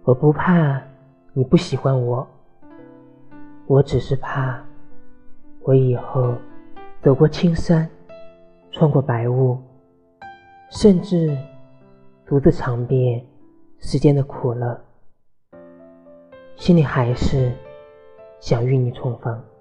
我不怕你不喜欢我，我只是怕我以后走过青山，穿过白雾，甚至独自尝遍世间的苦乐，心里还是想与你重逢。